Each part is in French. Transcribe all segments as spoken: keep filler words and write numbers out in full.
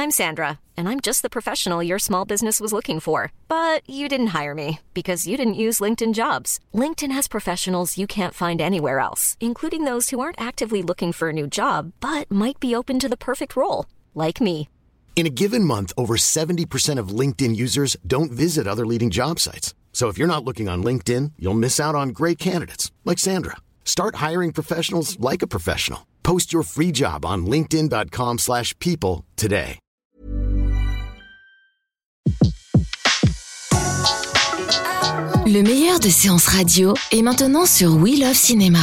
I'm Sandra, and I'm just the professional your small business was looking for. But you didn't hire me because you didn't use LinkedIn Jobs. LinkedIn has professionals you can't find anywhere else, including those who aren't actively looking for a new job, but might be open to the perfect role, like me. In a given month, over seventy percent of LinkedIn users don't visit other leading job sites. So if you're not looking on LinkedIn, you'll miss out on great candidates like Sandra. Start hiring professionals like a professional. Post your free job on linkedin.com slash people today. Le meilleur de séances radio est maintenant sur We Love Cinéma.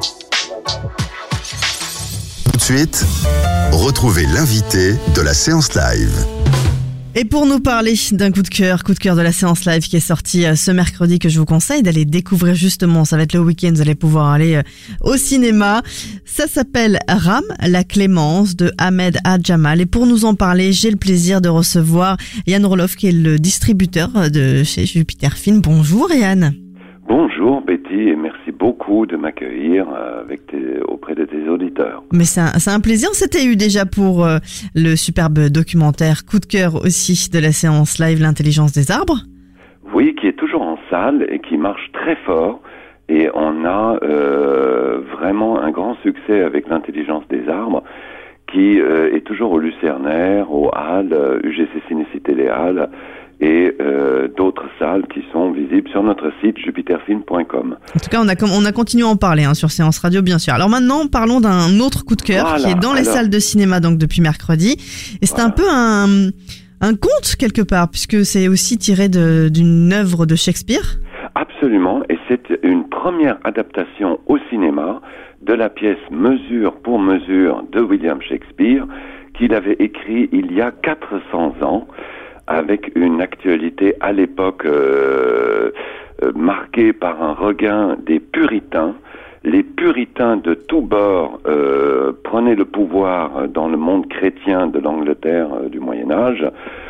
Tout de suite, retrouvez l'invité de la séance live. Et pour nous parler d'un coup de cœur, coup de cœur de la séance live qui est sorti ce mercredi, que je vous conseille d'aller découvrir justement, ça va être le week-end, vous allez pouvoir aller au cinéma. Ça s'appelle Ram, la clémence de Ahmed Adjamal. Et pour nous en parler, j'ai le plaisir de recevoir Yann Roloff, qui est le distributeur de chez Jupiter Film. Bonjour Yann. Bonjour Betty, et merci beaucoup de m'accueillir avec tes, auprès de tes auditeurs. Mais c'est un, c'est un plaisir, on s'était eu déjà pour euh, le superbe documentaire coup de cœur aussi de la séance live L'intelligence des arbres. Oui, qui est toujours en salle et qui marche très fort, et on a euh, vraiment un grand succès avec L'intelligence des arbres, qui euh, est toujours au Lucernaire, au Halles, U G C Cinécité Les Halles, et euh, d'autres salles qui sont visibles sur notre site jupiter film point com. En tout cas, on a, on a continué à en parler hein, sur Séance Radio, bien sûr. Alors maintenant, parlons d'un autre coup de cœur voilà, qui est dans les alors... salles de cinéma donc depuis mercredi. Et c'est voilà. un peu un, un conte quelque part, puisque c'est aussi tiré de, d'une œuvre de Shakespeare. Absolument, et c'est une première adaptation au cinéma de la pièce Mesure pour mesure de William Shakespeare, qu'il avait écrit il y a quatre cents ans, avec une actualité à l'époque euh, euh, marquée par un regain des puritains. Les puritains de tous bords euh, prenaient le pouvoir dans le monde chrétien de l'Angleterre euh, du Moyen-Âge.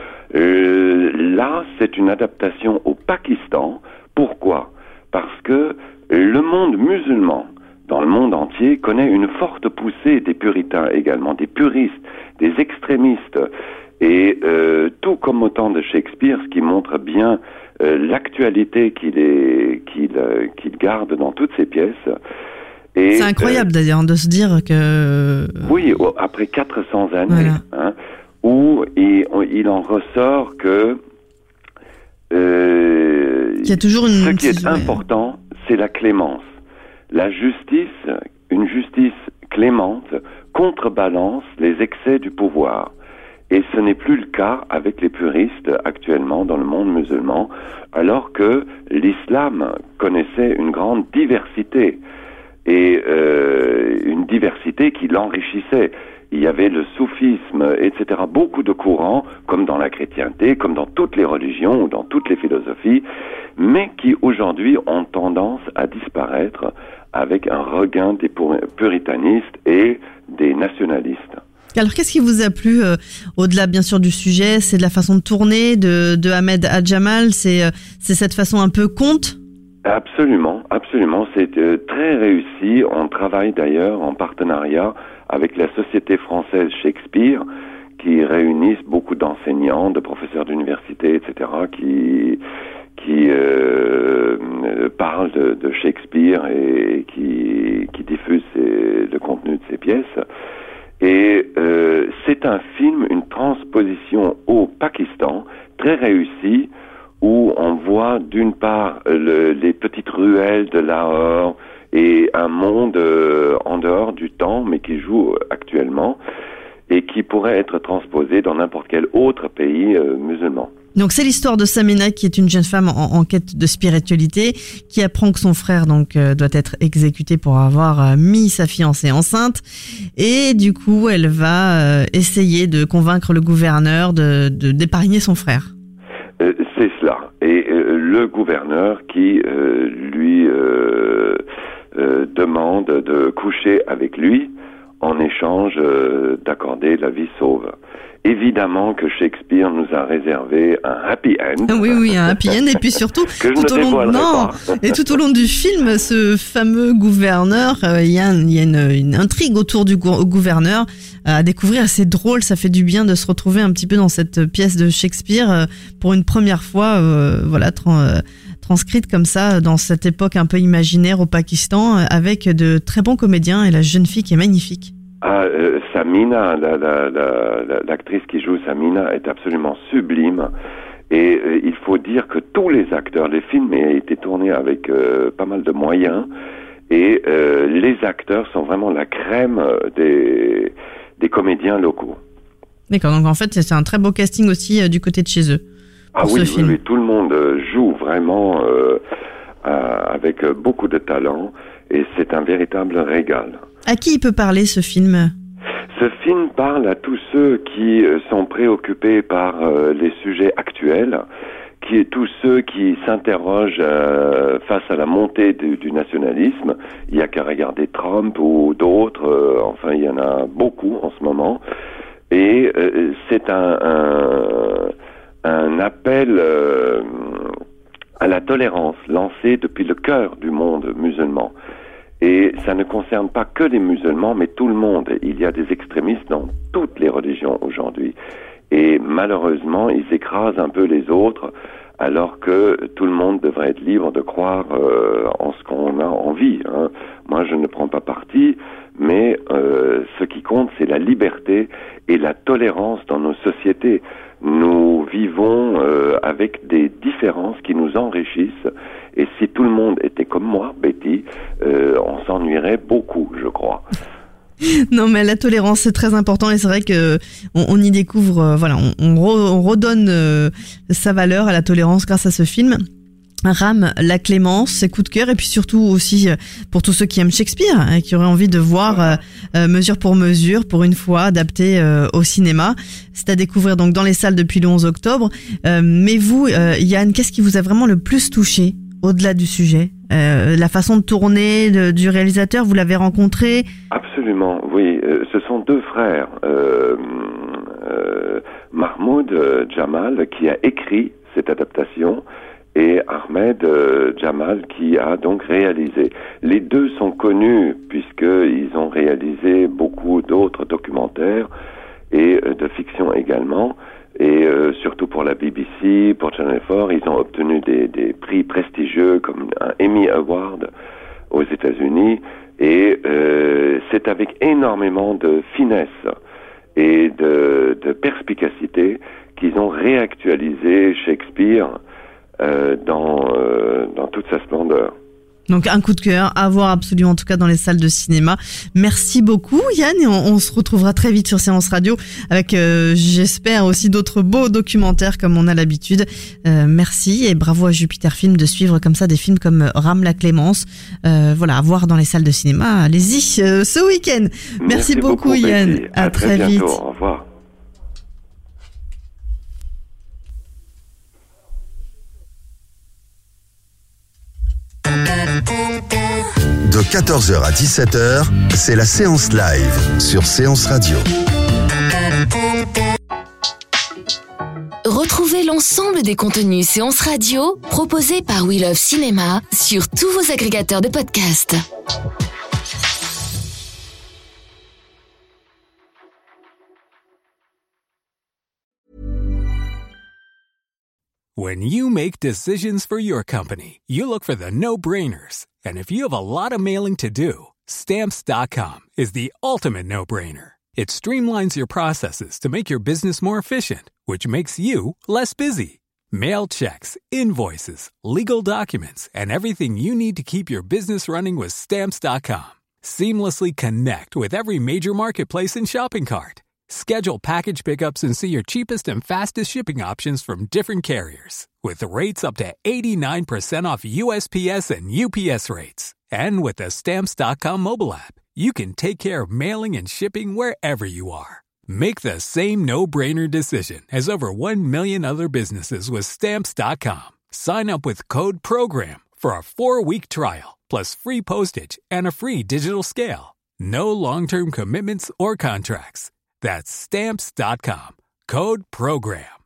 Euh, là, c'est une adaptation au Pakistan. Pourquoi ? Parce que le monde musulman, dans le monde entier, connaît une forte poussée des puritains également, des puristes, des extrémistes. Et euh, tout comme au temps de Shakespeare, ce qui montre bien euh, l'actualité qu'il, est, qu'il, euh, qu'il garde dans toutes ses pièces. Et, c'est incroyable euh, d'ailleurs de se dire que... Oui, après quatre cents années, voilà. hein, où il, il en ressort que... Euh, il y a toujours une... Ce qui est important, c'est la clémence. La justice, une justice clémente, contrebalance les excès du pouvoir. Et ce n'est plus le cas avec les puristes actuellement dans le monde musulman, alors que l'islam connaissait une grande diversité, et euh, une diversité qui l'enrichissait. Il y avait le soufisme, et cetera, beaucoup de courants, comme dans la chrétienté, comme dans toutes les religions ou dans toutes les philosophies, mais qui aujourd'hui ont tendance à disparaître avec un regain des puritanistes et des nationalistes. Alors, qu'est-ce qui vous a plu euh, au-delà, bien sûr, du sujet ? C'est de la façon de tourner de, de Ahmed Adjamal. C'est, euh, c'est cette façon un peu conte ? Absolument, absolument. C'est euh, très réussi. On travaille d'ailleurs en partenariat avec la Société française Shakespeare, qui réunissent beaucoup d'enseignants, de professeurs d'université, et cetera, qui qui euh, parlent de, de Shakespeare et qui qui diffusent ses, le contenu de ses pièces. Et euh, c'est un film, une transposition au Pakistan, très réussie, où on voit d'une part le, les petites ruelles de Lahore et un monde euh, en dehors du temps, mais qui joue actuellement, et qui pourrait être transposé dans n'importe quel autre pays euh, musulman. Donc c'est l'histoire de Samina, qui est une jeune femme en, en quête de spiritualité, qui apprend que son frère donc euh, doit être exécuté pour avoir euh, mis sa fiancée enceinte, et du coup elle va euh, essayer de convaincre le gouverneur de, de d'épargner son frère. Euh, c'est cela. Et euh, le gouverneur qui euh, lui euh, euh, demande de coucher avec lui en échange euh, d'accorder la vie sauve. Évidemment que Shakespeare nous a réservé un happy end. Oui, oui, un happy end. Et puis surtout, que je tout, ne au long, non, et tout au long du film, ce fameux gouverneur, il euh, y a, un, y a une, une intrigue autour du gou- gouverneur euh, à découvrir. C'est drôle, ça fait du bien de se retrouver un petit peu dans cette pièce de Shakespeare euh, pour une première fois, euh, voilà, tra- euh, transcrite comme ça dans cette époque un peu imaginaire au Pakistan, euh, avec de très bons comédiens et la jeune fille qui est magnifique. Ah, euh, Samina, la, la, la, la, l'actrice qui joue Samina est absolument sublime. Et euh, il faut dire que tous les acteurs, les films ont été tournés avec euh, pas mal de moyens. Et euh, les acteurs sont vraiment la crème des, des comédiens locaux. D'accord, donc en fait c'est un très beau casting aussi euh, du côté de chez eux. Ah oui, oui, oui, tout le monde joue vraiment euh, euh, avec beaucoup de talent. Et c'est un véritable régal. À qui il peut parler ce film ? Ce film parle à tous ceux qui sont préoccupés par euh, les sujets actuels, qui tous ceux qui s'interrogent euh, face à la montée du, du nationalisme. Il n'y a qu'à regarder Trump ou d'autres, euh, enfin il y en a beaucoup en ce moment. Et euh, c'est un, un, un appel euh, à la tolérance lancé depuis le cœur du monde musulman. Et ça ne concerne pas que les musulmans, mais tout le monde. Il y a des extrémistes dans toutes les religions aujourd'hui. Et malheureusement, ils écrasent un peu les autres, alors que tout le monde devrait être libre de croire euh, en ce qu'on a envie. Hein. Moi, je ne prends pas parti, mais euh, ce qui compte, c'est la liberté et la tolérance dans nos sociétés. Nous vivons euh, avec des différences qui nous enrichissent. Et si tout le monde était comme moi, Betty, euh, on s'ennuierait beaucoup, je crois. Non, mais la tolérance, c'est très important et c'est vrai que on, on y découvre, euh, voilà, on, on, re, on redonne euh, sa valeur à la tolérance grâce à ce film. Ram, la clémence, ses coups de cœur, et puis surtout aussi euh, pour tous ceux qui aiment Shakespeare, hein, qui auraient envie de voir euh, euh, mesure pour mesure, pour une fois, adapté euh, au cinéma. C'est à découvrir donc dans les salles depuis le onze octobre. Euh, mais vous, euh, Yann, qu'est-ce qui vous a vraiment le plus touché au-delà du sujet? Euh, la façon de tourner de, du réalisateur, vous l'avez rencontré? Absolument, oui. Euh, ce sont deux frères, euh, euh, Mahmoud euh, Jamal, qui a écrit cette adaptation, et Ahmed euh, Jamal, qui a donc réalisé. Les deux sont connus, puisqu'ils ont réalisé beaucoup d'autres documentaires, et euh, de fiction également. Et euh, surtout pour la B B C, pour Channel quatre, ils ont obtenu des, des prix prestigieux comme un Emmy Award aux États-Unis. Et euh, c'est avec énormément de finesse et de, de perspicacité qu'ils ont réactualisé Shakespeare euh, dans, euh, dans toute sa splendeur. Donc un coup de cœur à voir absolument, en tout cas dans les salles de cinéma. Merci beaucoup Yann, et on, on se retrouvera très vite sur Séance Radio avec, euh, j'espère, aussi d'autres beaux documentaires comme on a l'habitude. Euh, merci et bravo à Jupiter Film de suivre comme ça des films comme Ram, la clémence. Euh, voilà, à voir dans les salles de cinéma. Allez-y euh, ce week-end. Merci, Merci beaucoup, beaucoup Yann. Betty. À, à très, très bientôt. Vite. Au revoir. De quatorze heures à dix-sept heures, c'est la séance live sur Séance Radio. Retrouvez l'ensemble des contenus Séance Radio proposés par We Love Cinéma sur tous vos agrégateurs de podcasts. When you make decisions for your company, you look for the no-brainers. And if you have a lot of mailing to do, Stamps dot com is the ultimate no-brainer. It streamlines your processes to make your business more efficient, which makes you less busy. Mail checks, invoices, legal documents, and everything you need to keep your business running with Stamps dot com. Seamlessly connect with every major marketplace and shopping cart. Schedule package pickups and see your cheapest and fastest shipping options from different carriers. With rates up to eighty-nine percent off U S P S and U P S rates. And with the Stamps dot com mobile app, you can take care of mailing and shipping wherever you are. Make the same no-brainer decision as over one million other businesses with Stamps dot com. Sign up with code PROGRAM for a four-week trial, plus free postage and a free digital scale. No long-term commitments or contracts. That's stamps dot com. Code program.